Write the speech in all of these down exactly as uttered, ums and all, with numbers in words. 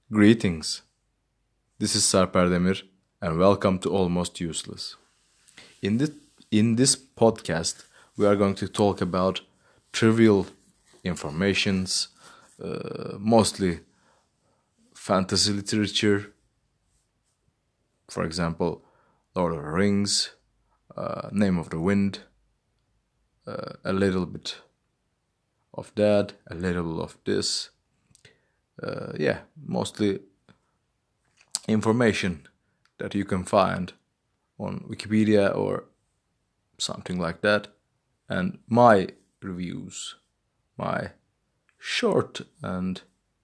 Greetings. This is Sarper Demir, and welcome to Almost Useless. In this in this podcast, we are going to talk about trivial informations, uh, mostly fantasy literature. For example, Lord of the Rings, uh, Name of the Wind, uh, a little bit of that, a little of this. Uh, yeah, mostly information that you can find on Wikipedia or something like that, and my reviews, my short and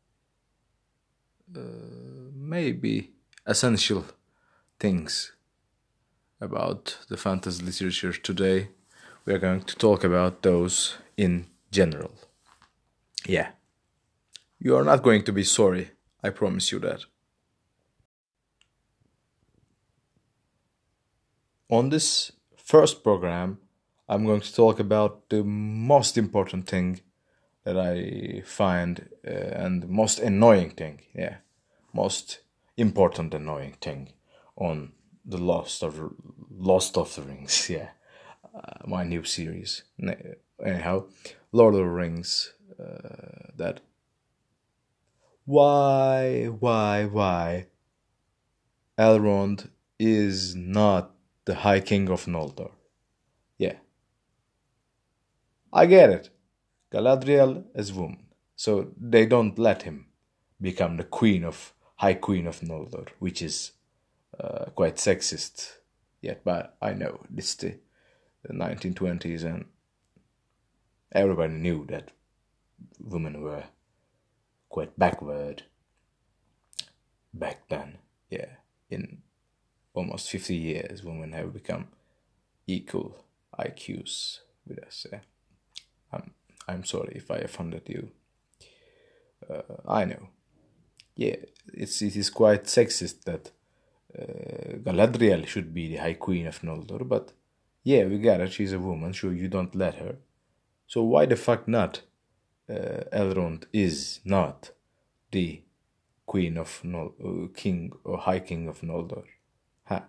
uh, maybe essential things about the fantasy literature today. We are going to talk about those in general. Yeah. You are not going to be sorry, I promise you that. On this first program, I'm going to talk about the most important thing that I find uh, and most annoying thing, yeah, most important annoying thing on the Lost of Lost of the Rings, yeah, uh, my new series. Anyhow, Lord of the Rings, uh, that why, why, why Elrond is not the High King of Noldor. Yeah. I get it. Galadriel is woman, so they don't let him become the queen of High Queen of Noldor, which is uh, quite sexist. Yet, but I know it's the, the nineteen twenties, and everybody knew that women were quite backward back then. Yeah, in almost fifty years, women have become equal I Qs with us. Yeah. I'm, I'm sorry if I offended you. Uh, I know. Yeah, it's it is quite sexist that uh, Galadriel should be the High Queen of Noldor, but yeah, we got it. She's a woman, so you don't let her. So why the fuck not? Uh, Elrond is not the Queen of Nol, uh, King or High King of Noldor. Huh.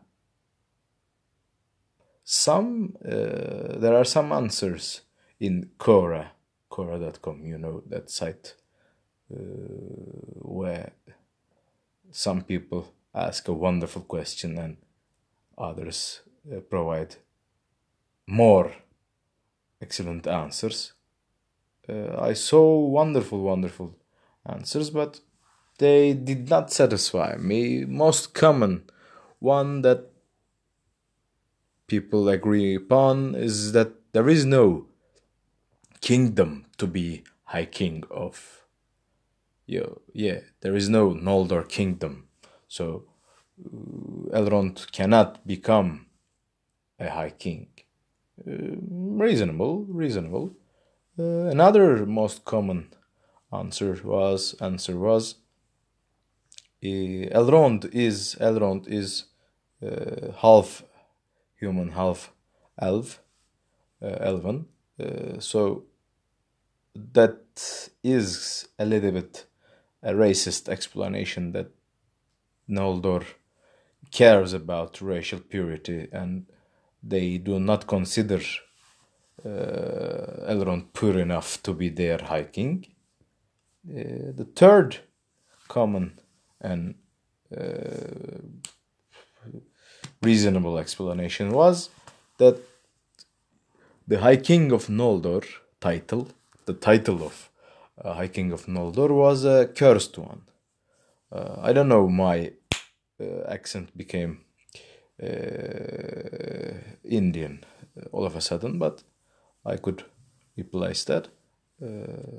Some uh, there are some answers in Quora, Quora dot com. You know that site uh, where some people ask a wonderful question and others uh, provide more excellent answers. Uh, I saw wonderful, wonderful answers, but they did not satisfy me. Most common one that people agree upon is that there is no kingdom to be High King of. Yo, yeah, there is no Noldor kingdom, so uh, Elrond cannot become a High King. Uh, reasonable, reasonable. Uh, another most common answer was answer was uh, Elrond is Elrond is uh, half human, half elf, uh, elven. Uh, so that is a little bit a racist explanation that Noldor cares about racial purity and they do not consider uh, Elrond pure enough to be their High King. Uh, the third common and uh, reasonable explanation was that the High King of Noldor title, the title of uh, High King of Noldor, was a cursed one. Uh, I don't know, my uh, accent became uh, Indian all of a sudden, but I could replace that. Uh,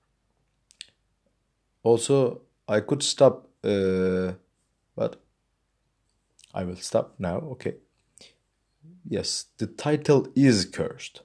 also, I could stop, uh, but I will stop now. Okay. Yes, the title is cursed.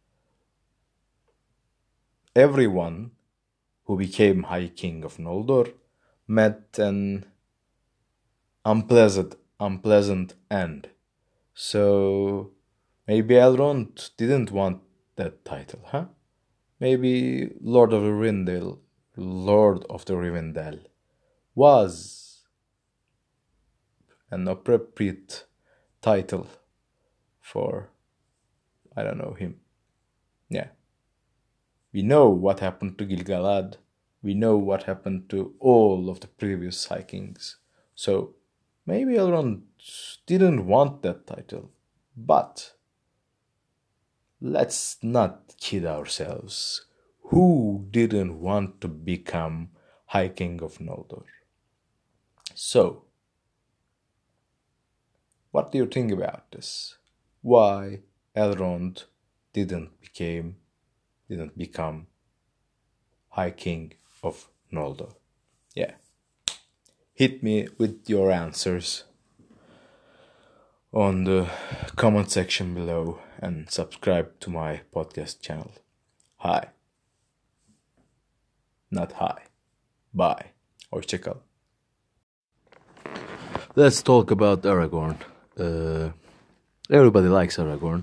Everyone who became High King of Noldor met an unpleasant, unpleasant end. So maybe Elrond didn't want that title, huh? Maybe Lord of the Rivendell, Lord of the Rivendell, was an appropriate title for, I don't know, him. Yeah. We know what happened to Gil-galad. We know what happened to all of the previous High Kings. So maybe Elrond didn't want that title. But let's not kid ourselves. Who didn't want to become High King of Noldor? So, what do you think about this? Why Elrond didn't became didn't become High King of Noldor? Yeah. Hit me with your answers on the comment section below and subscribe to my podcast channel. Hi. Not hi. Bye. Hoşça kal. Let's talk about Aragorn. Uh, everybody likes Aragorn.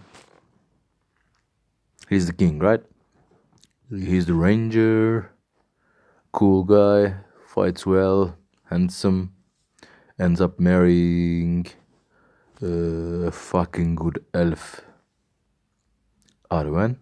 He's the king, right? He's the ranger, cool guy, fights well, handsome, ends up marrying a fucking good elf, Arwen.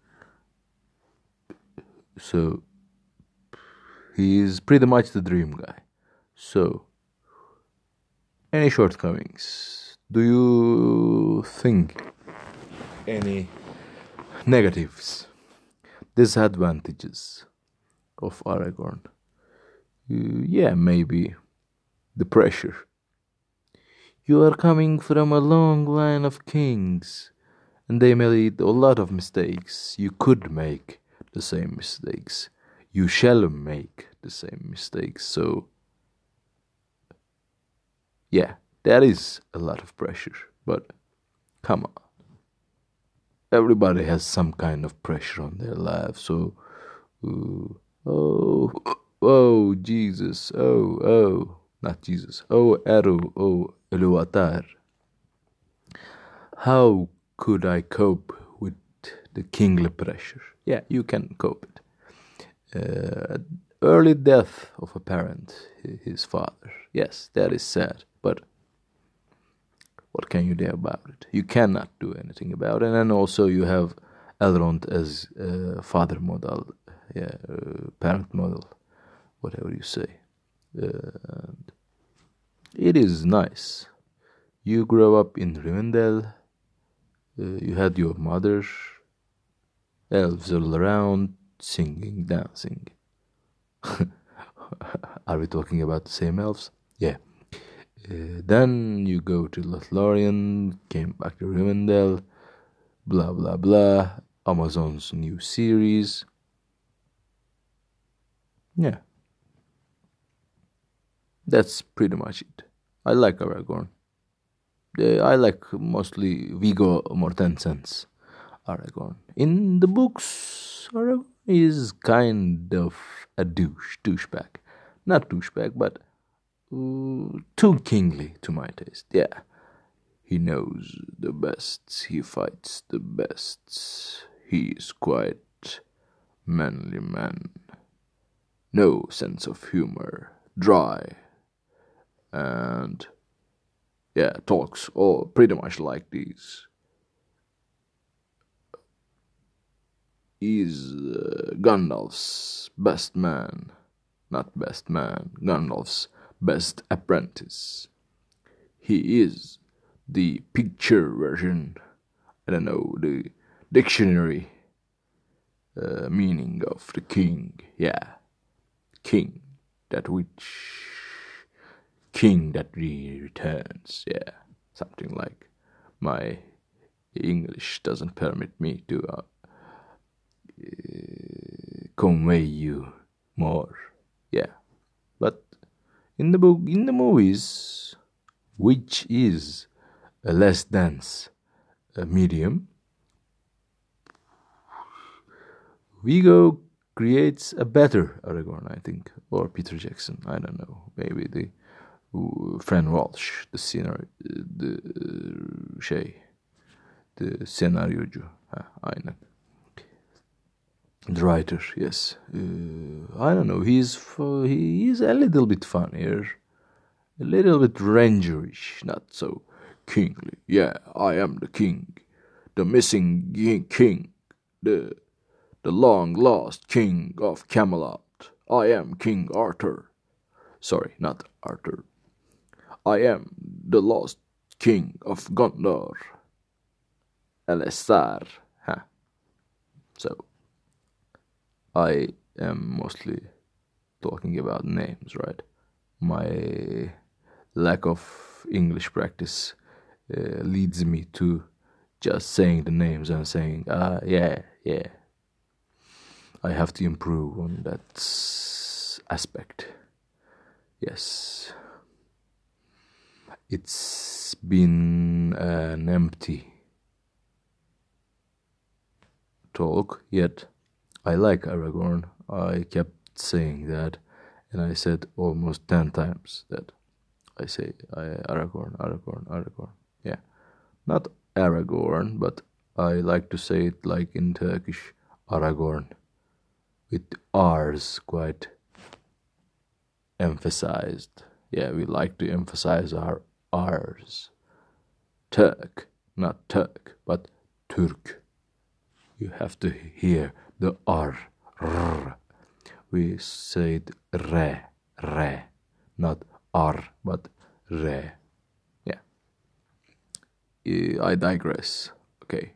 So he is pretty much the dream guy. So, any shortcomings? Do you think any negatives, disadvantages of Aragorn? Uh, yeah, maybe the pressure. You are coming from a long line of kings, and they made a lot of mistakes. You could make the same mistakes. You shall make the same mistakes. So, yeah, that is a lot of pressure. But come on. Everybody has some kind of pressure on their life. So, uh, oh, oh, Jesus, oh, oh, not Jesus, oh, Eru, oh, Iluvatar. How could I cope with the kingly pressure? Yeah, you can cope it. Uh, early death of a parent, his father. Yes, that is sad, but what can you do about it? You cannot do anything about it. And then also you have Elrond as uh, father model, yeah, uh, parent model, whatever you say. Uh, and it is nice. You grow up in Rivendell. Uh, you had your mother, elves all around, singing, dancing. Are we talking about the same elves? Yeah. Uh, then you go to Lothlorien, came back to Rivendell, blah blah blah, Amazon's new series. Yeah. That's pretty much it. I like Aragorn. Uh, I like mostly Viggo Mortensen's Aragorn. In the books, Aragorn is kind of a douche, douchebag. Not douchebag, but uh, too kingly to my taste. Yeah. He knows the best, he fights the best. He is quite manly man. No sense of humor, dry, and yeah, talks all pretty much like these. He's uh, Gandalf's best man, not best man, Gandalf's best apprentice. He is the picture version, I don't know, the dictionary uh, meaning of the king. Yeah, king, that which king that returns. Yeah, something like. My English doesn't permit me to uh, uh, convey you more. Yeah, but in the book, in the movies, which is a less dense uh, medium, Viggo creates a better Aragorn, I think, or Peter Jackson. I don't know. Maybe the uh, Fran Walsh, the scenario, the uh, şey, the senaryocu. Ha, aynen. The writer, yes. Uh, I don't know. He's fu- he is a little bit funnier, a little bit rangerish, not so kingly. Yeah, I am the king, the missing gi- king, the the long lost king of Camelot. I am King Arthur. Sorry, not Arthur. I am the lost king of Gondor. Elisar. Huh. So I am mostly talking about names, right? My lack of English practice uh, leads me to just saying the names and saying, ah, yeah, yeah. I have to improve on that aspect. Yes. It's been an empty talk, yet I like Aragorn. I kept saying that, and I said almost ten times that I say I, Aragorn, Aragorn, Aragorn. Yeah, not Aragorn, but I like to say it like in Turkish, Aragorn, with R's quite emphasized. Yeah, we like to emphasize our R's. Turk, not Turk, but Turk. You have to hear the R. R. We say it re, re, not R, but re. Yeah. I digress. Okay.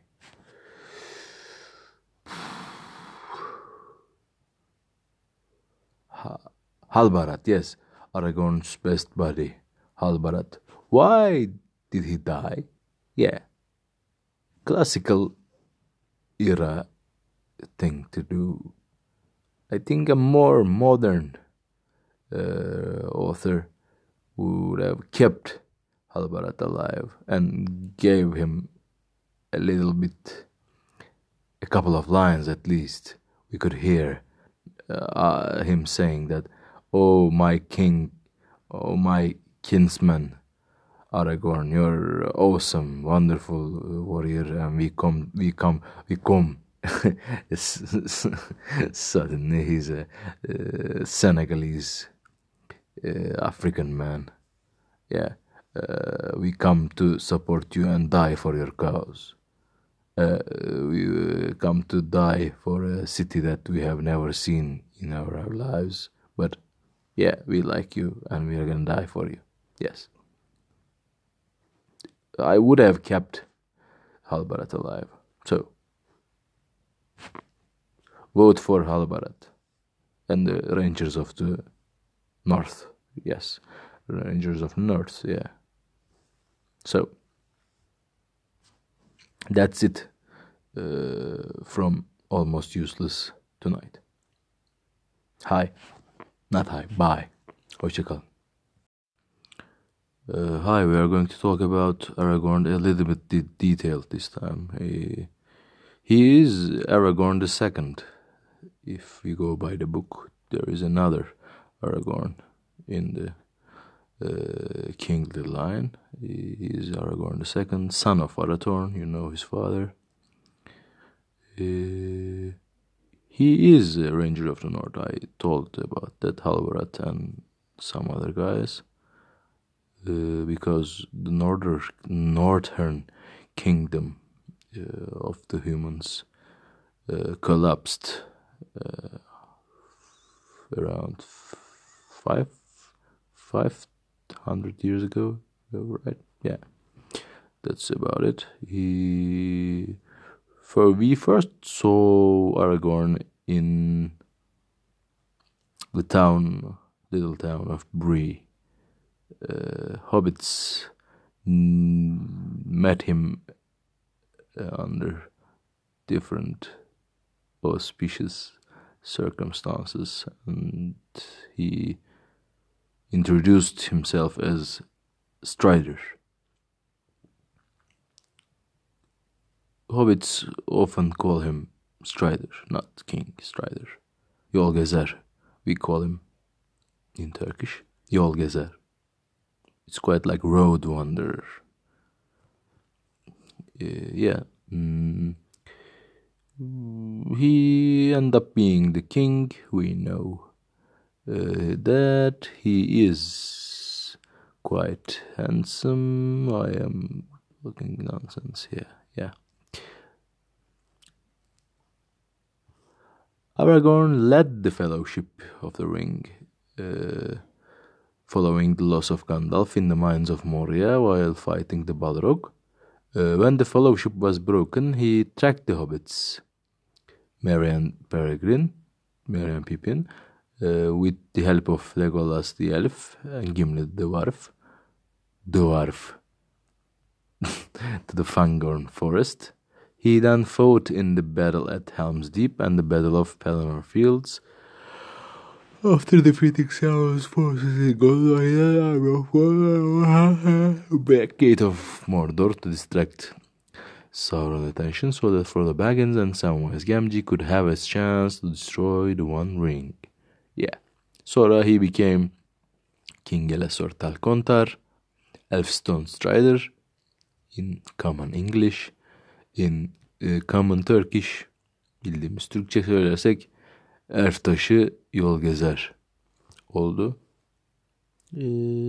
Halbarat, yes, Aragorn's best buddy, Halbarat. Why did he die? Yeah, classical era thing to do. I think a more modern uh, author would have kept Halbarat alive and gave him a little bit, a couple of lines at least. We could hear uh, him saying that, "Oh, my king, oh, my kinsman, Aragorn, you're awesome, wonderful warrior, and we come, we come, we come." Suddenly, he's a uh, Senegalese uh, African man. Yeah, uh, we come to support you and die for your cause. Uh, we uh, come to die for a city that we have never seen in our lives. But yeah, we like you and we are gonna die for you. Yes. I would have kept Halbarat alive. So, vote for Halbarat and the Rangers of the North. Yes, Rangers of North, yeah. So, that's it uh, from Almost Useless tonight. Hi. Not hi. Bye. Hoşçakalın. Uh, hi, we are going to talk about Aragorn a little bit de- detailed this time. He, he is Aragorn the Second. If we go by the book, there is another Aragorn in the uh, kingly line. He is Aragorn the Second, son of Arathorn. You know his father. Uh, he is a Ranger of the North. I told about that, Halbarat and some other guys. Uh, because the northern northern kingdom uh, of the humans uh, collapsed uh, around five five hundred years ago, right? Yeah, that's about it. He for we first saw Aragorn in the town, little town of Bree. Uh, hobbits mm, met him uh, under different auspicious circumstances, and he introduced himself as Strider. Hobbits often call him Strider, not King Strider. Yol Gezer, we call him in Turkish. Yol Gezer. It's quite like Road Wanderer. Uh, yeah. Mm. he ended up being the king. We know uh, that he is quite handsome. I am looking nonsense here. Yeah. Aragorn led the Fellowship of the Ring, uh, following the loss of Gandalf in the mines of Moria while fighting the Balrog. Uh, when the Fellowship was broken, he tracked the hobbits, Merry and Peregrine, Merry and Pippin, uh, with the help of Legolas the elf and Gimli the dwarf, dwarf, to the Fangorn forest. He then fought in the battle at Helm's Deep and the Battle of Pelennor Fields. After defeating Sauron's forces in Gondor, back Gate of Mordor to distract Sauron's attention so that Frodo Baggins and Samwise Gamgee could have a chance to destroy the One Ring. Yeah. Sonra he became King Elessor Talkontar, Elfstone Strider, in common English, in uh, common Turkish, bildiğimiz Türkçe söylersek Elf taşı yol gezer oldu. Ee,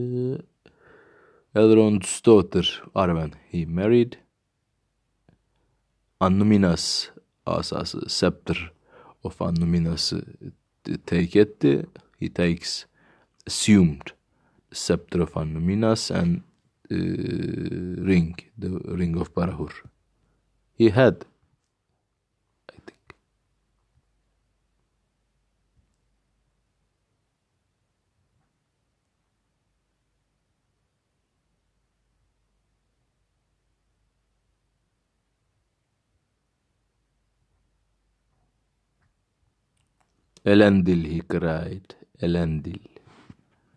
Elrond's daughter Arwen he married. Annuminas asası Scepter of Annuminas'ı take etti. He takes assumed the Scepter of Annuminas and uh, ring, the Ring of Barahur. He had, I think. Elendil, he cried. Elendil.